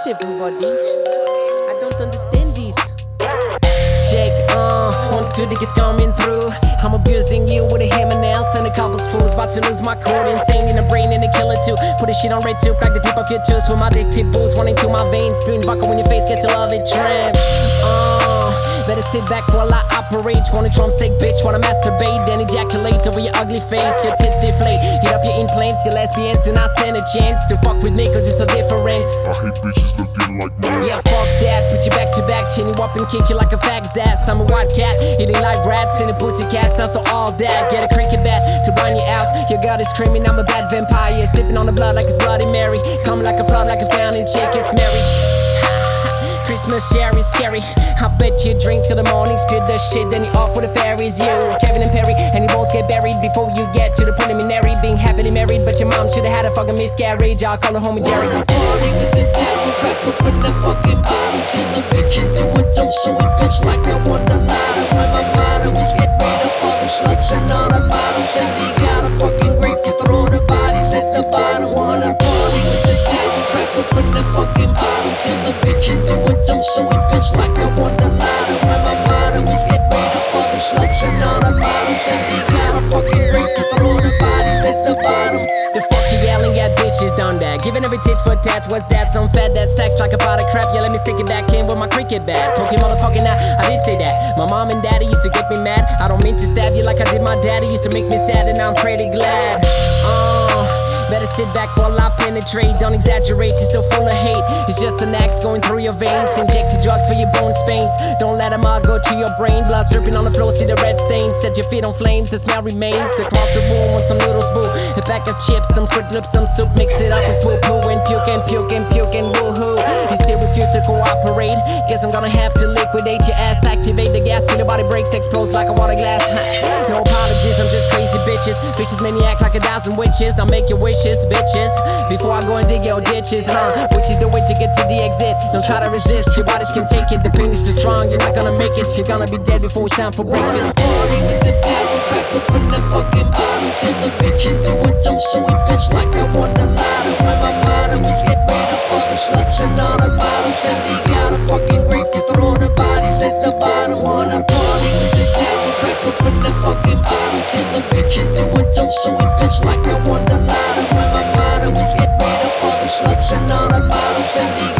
with everybody. I don't understand this. Check, 1, 2 niggas coming through. I'm abusing you with a hammer nails and a couple spoons. About to lose my cool, insane in the brain and a killer too. Put this shit on red too, crack the tip of your tooth with my dick tip booze running through my veins. Spewing vodka when your face gets a love it tramp. Better sit back while I operate. Wanna drumstick, bitch, wanna masturbate, then ejaculate over your ugly face. Your tits deflate, get up your implants. Your lesbians do not stand a chance to fuck with me cause you're so different. I hate bitches looking like me. Yeah, fuck that, put you back to back, chin you up and kick you like a fag's ass. I'm a white cat, eating like rats in a pussy cat. Not so all that, get a cricket bat to run you out. Your god is screaming, I'm a bad vampire. Sipping on the blood like it's Bloody Mary. Coming like a flood, like a fountain, shake it's Mary. Christmas cherry scary. I bet you drink till the morning, spit the shit, then you off with the fairies. You, Kevin and Perry, and you both get buried before you get to the preliminary. Being happily married, but your mom should've had a fucking miscarriage. I'll call her homie Jerry. Party with the devil, crack open the fucking bottle, kill the bitch and do a toast so it feels like I won the lotto. And my motto is get rid of all the sluts and all the models, and they got a fucking grave to throw the bodies at the bottom. Wanna party with the devil, crack open the fucking bottle, kill the bitch and do a toast so it feels like I won the lotto. And my motto is get rid of all the sluts and all the models, and they got a fucking grave to throw the bodies at the bottom. The fuck you yelling at, bitches done that. Giving every tit for tat, what's that? Some fat that stacks like a pot of crap. Yeah, let me stick it back in with my cricket bat. Poking motherfucking out, I did say that. My mom and daddy used to get me mad. I don't mean to stab you like I did my daddy. Used to make me sad and I'm pretty glad. Better sit back while I penetrate. Don't exaggerate, you're so full of hate. It's just an axe going through your veins. Inject your drugs for your bone spains. Don't let them all go to your brain. Blood dripping on the floor, see the red stains. Set your feet on flames, the smell remains. Across the room want some noodles, boo. A pack of chips, some Fruit Loops, some soup. Mix it up with poo-poo and puke and puke and puke and woohoo. You still refuse to cooperate. Guess I'm gonna have to liquidate your ass. Activate the gas till your body breaks, explodes like a water glass. No apologies, I'm just crazy bitches. Bitches make me act like 1,000 witches. Now make your wishes, bitches, before I go and dig your ditches, which is the way to get to the exit. Don't try to resist, your bodies can take it. The pain is too strong, you're not gonna make it. You're gonna be dead before it's time for breakfast. Party with the devil, crack open the fucking bottle, kill the bitch and do a toast so it feels like I won the lotto. And my motto is get rid of all the sluts and all the models, and they got a fucking grave to throw the bodies at the bottom. Wanna party with the devil, crack open the fucking bottle, kill the bitch and do a toast so it feels like I won the lotto. And my motto is get rid of all the sluts and all the models, and they